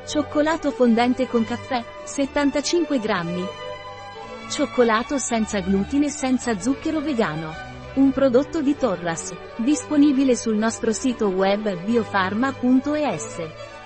Cioccolato fondente con caffè, 75 grammi. Cioccolato senza glutine e senza zucchero vegano. Un prodotto di Torras, disponibile sul nostro sito web biofarma.es.